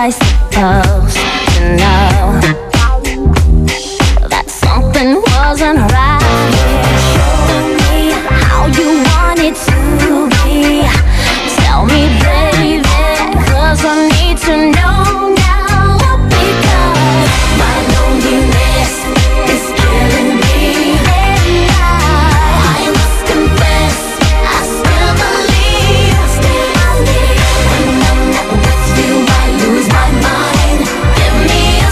I supposed to know that something wasn't right? Show me how you want it to be. Tell me, baby, 'cause I need to know now. Because my loneliness is killing me, and I must confess, I still believe. When I'm not with you, I lose my mind. Give me a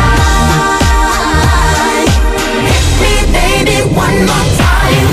sign. Hit me, baby, one more time.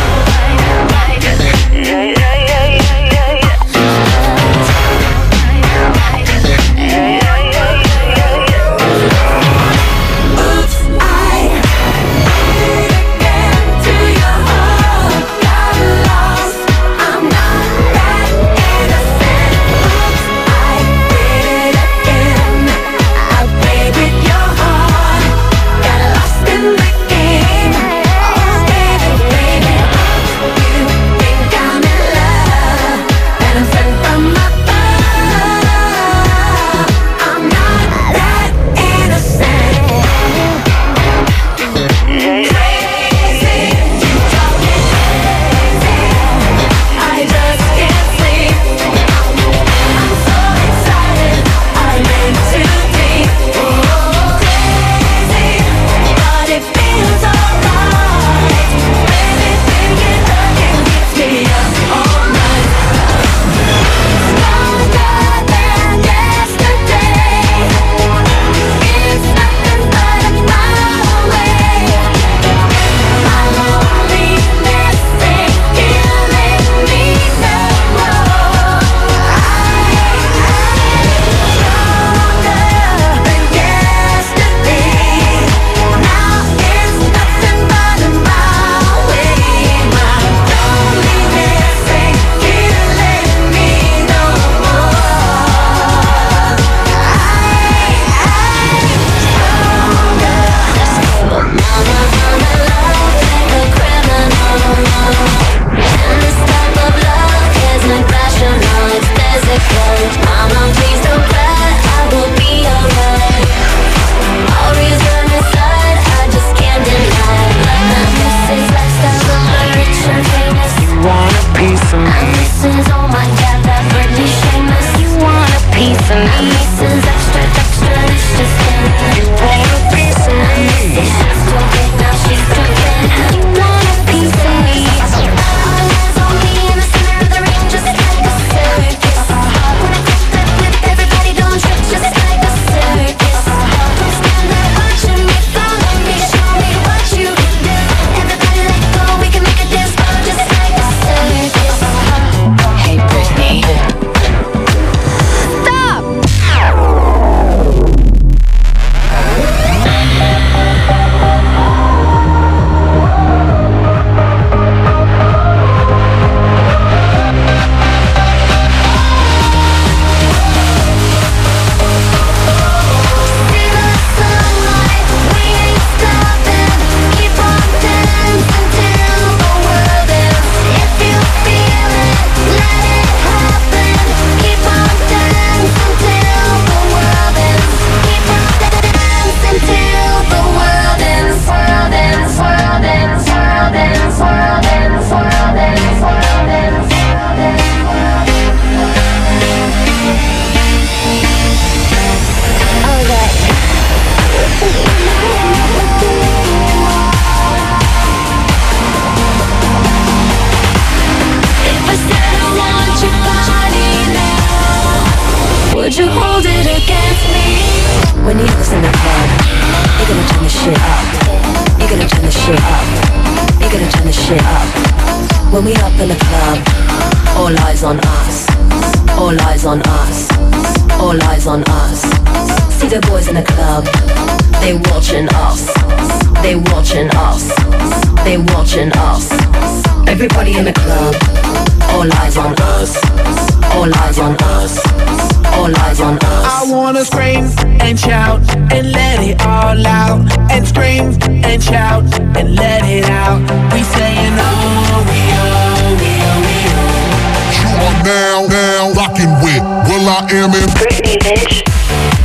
Would you hold it against me? When you was in the club, you're gonna turn the shit up. You're gonna turn the shit up. You're gonna turn the shit up. When we up in the club, all eyes on us. All eyes on us. All eyes on us. See the boys in the club, they watching us. They watching us. They watching us. Everybody in the club, all eyes on us. All eyes on us. All eyes on us. I wanna scream and shout and let it all out. And scream and shout and let it out. We saying oh, we oh, we oh, we oh. You are now rocking with Will.i.am and Britney, bitch.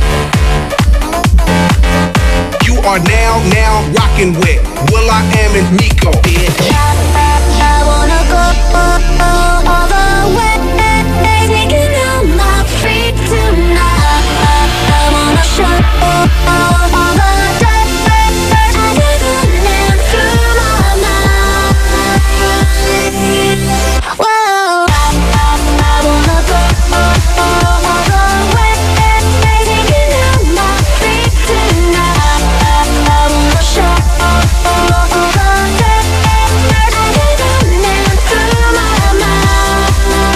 are now rocking with will.i.am and Nico, bitch. I wanna go all the way, taking out my feet tonight. I wanna show all the dirt through my mind. Whoa, I wanna go all the way, taking out my feet tonight. I wanna show all the dirt through my mind.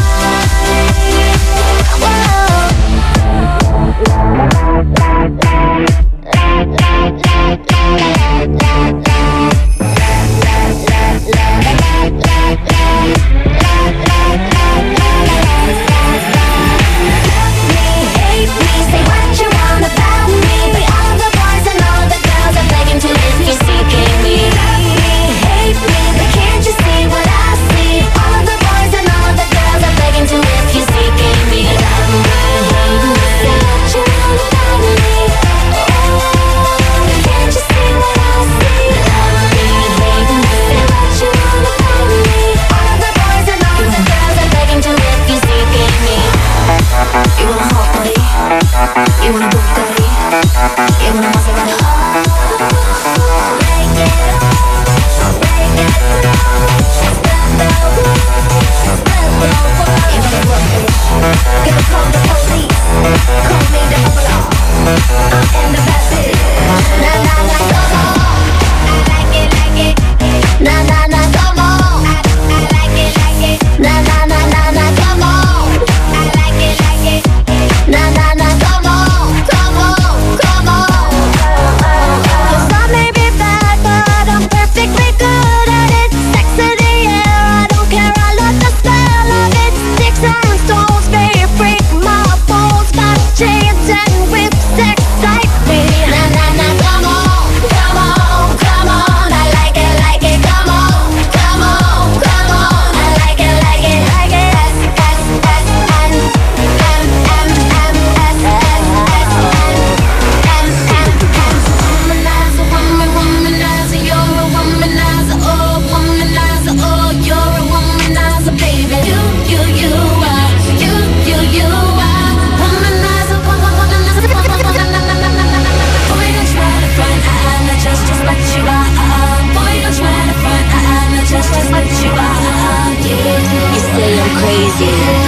Hate me, say what you want about me, but all the boys and all the girls are begging to if you're seeking me. Hate me, but can't you see what I see? All the boys and all the girls are begging to if you're seeking me. Say what you want about me. Oh, can't you see what I see? Hate me, say what you want about me. All the boys and all the girls are begging to if you're seeking me. You want a hot body? You want a Bugatti? You want a Maserati? Give a call the police. Call me the outlaw. I'm the bad bitch. Na na na, come on. I like it. Na na na, come on. I like it. Na na na na na, come on. I like it. Na na na, come on. 'Cause I may be bad, but I'm perfectly good at it. Sex in the air, I don't care. I love the smell of it. Sticks and stones, they break my bones. My chains and whips excite me. Na na na, come on. I like it. Come on. I like it. S S N M M M S S S N M M M. Womanizer, you're a womanizer. Oh, womanizer, oh, you're a womanizer, baby. You are. Womanizer, boy, don't try to front, not just what you are. Boy, don't try to front, not just what you are. Yeah. You say I'm crazy.